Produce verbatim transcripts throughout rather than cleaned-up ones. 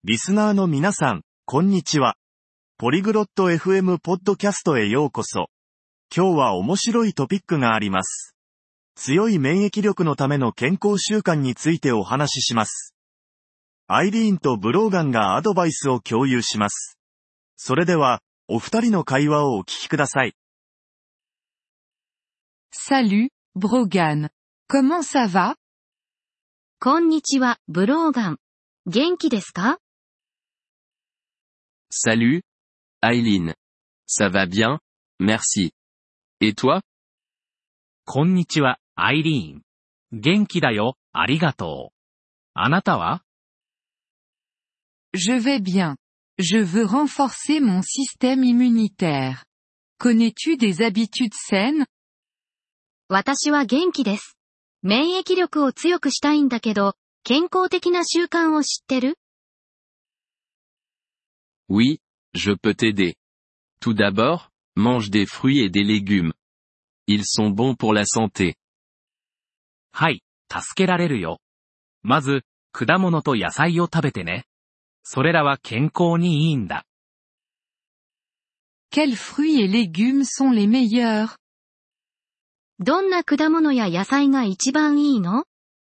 リスナーの皆さん、こんにちは。ポリグロット エフエム ポッドキャストへようこそ。今日は面白いトピックがあります。強い免疫力のための健康習慣についてお話しします。アイリーンとブローガンがアドバイスを共有します。それでは、お二人の会話をお聞きください。 Salut, Brogan. Comment ça va? こんにちは、ブローガン。元気ですか？ Salut, Aileen. Ça va bien, merci. Et toi? こんにちは、アイリーン。元気だよ、ありがとう。あなたは？ Je vais bien. Je veux renforcer mon système immunitaire. Connais-tu des habitudes saines? 私は元気です。免疫力を強くしたいんだけど、健康的な習慣を知ってる？ Oui, je peux t'aider. Tout d'abord, mange des fruits et des légumes. Ils sont bons pour la santé. はい、助けられるよ。まず、果物と野菜を食べてね。それらは健康にいいんだ。 Quels fruits et légumes sont les meilleurs? どんな果物や野菜が一番いいの？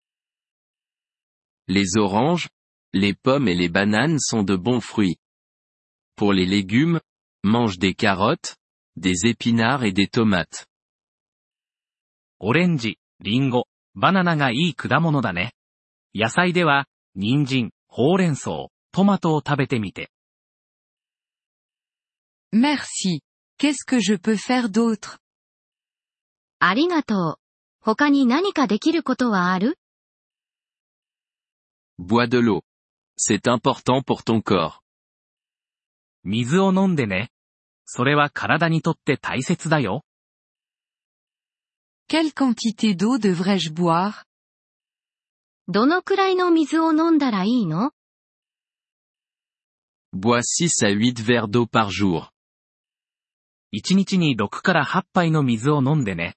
Les oranges, les pommes et les bananes sont de bons fruits. Pour les légumes, mange des carottes, des épinards et des tomates. オレンジ、リンゴ、バナナがいい果物だね。野菜では、人参、ほうれん草、トマトを食べてみて。 Merci. Qu'est-ce que je peux faire d'autre? ありがとう。他に何かできることはある？ Bois de l'eau. C'est important pour ton corps. 水を飲んでね。それは体にとって大切だよ。 Quelle quantité d'eau devrais-je boire? どのくらいの水を飲んだらいいの？ Bois six à huit verres d'eau par jour. いちにちにろくからはち杯の水を飲んでね。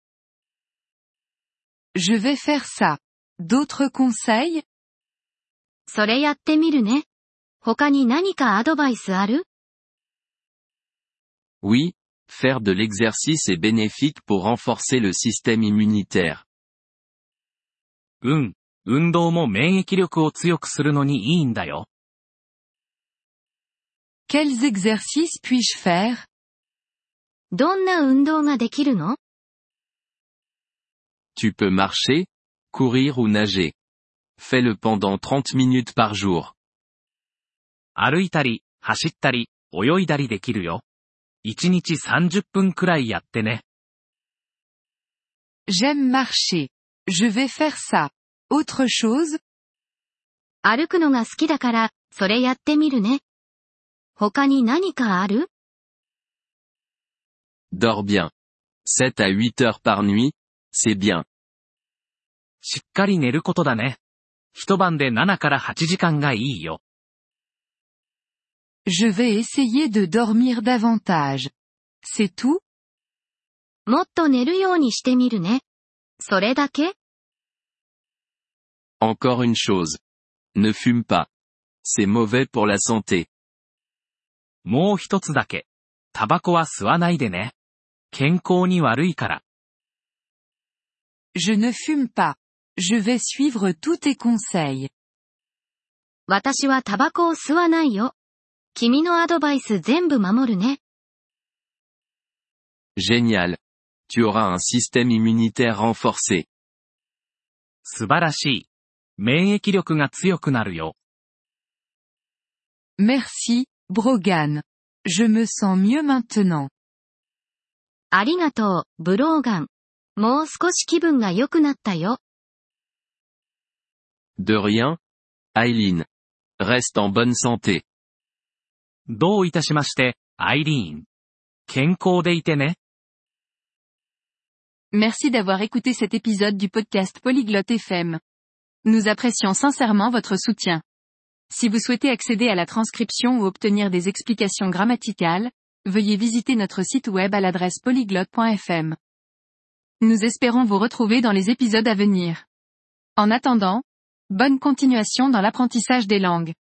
Je vais faire ça. D'autres conseils? それやってみるね。他に何かアドバイスある？ Oui, faire de l'exercice est bénéfique pour renforcer le système immunitaire. うん、運動も免疫力を強くするのにいいんだよ。 Quels exercices puis-je faire? どんな運動ができるの？ Tu peux marcher, courir ou nager. Fais-le pendant trente minutes par jour. 歩いたり、走ったり、泳いだりできるよ。いちにちさんじゅっぷんくらいやってね。 J'aime marcher. Je vais faire ça. Autre chose? 歩くのが好きだから、それやってみるね。他に何かある？ Dors bien. sept à huit heures par nuit, c'est bien. しっかり寝ることだね。一晩でななからはちじかんがいいよ。 Je vais essayer de dormir davantage. C'est tout? もっと寝るようにしてみるね。それだけ？ Encore une chose. Ne fume pas. C'est mauvais pour la santé. もう一つだけ。タバコは吸わないでね。健康に悪いから。 Je ne fume pas. Je vais suivre tous tes conseils. 私はタバコを吸わないよ。君のアドバイス全部守るね。 Génial. Tu auras un système immunitaire renforcé. 素晴らしい。免疫力が強くなるよ。 Merci, Brogan. Je me sens mieux maintenant. ありがとう、ブローガン。もう少し気分が良くなったよ。 De rien, Aileen. Reste en bonne santé. どういたしまして、アイリーン。健康でいてね。 Merci d'avoir écouté cet épisode du podcast Polyglotte F M. Nous apprécions sincèrement votre soutien. Si vous souhaitez accéder à la transcription ou obtenir des explications grammaticales, veuillez visiter notre site web à l'adresse polyglotte point f m. Nous espérons vous retrouver dans les épisodes à venir. En attendant, bonne continuation dans l'apprentissage des langues.